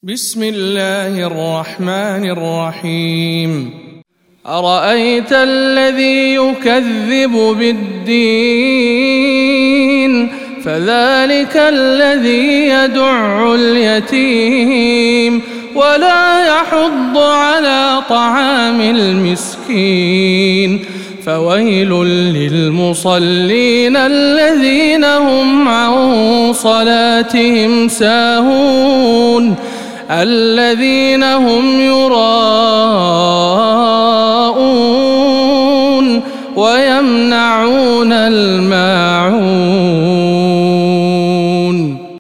بسم الله الرحمن الرحيم أرأيت الذي يكذب بالدين فذلك الذي يدع اليتيم ولا يحض على طعام المسكين فويل للمصلين الذين هم عن صلاتهم ساهون الذين هم يراءون ويمنعون الماء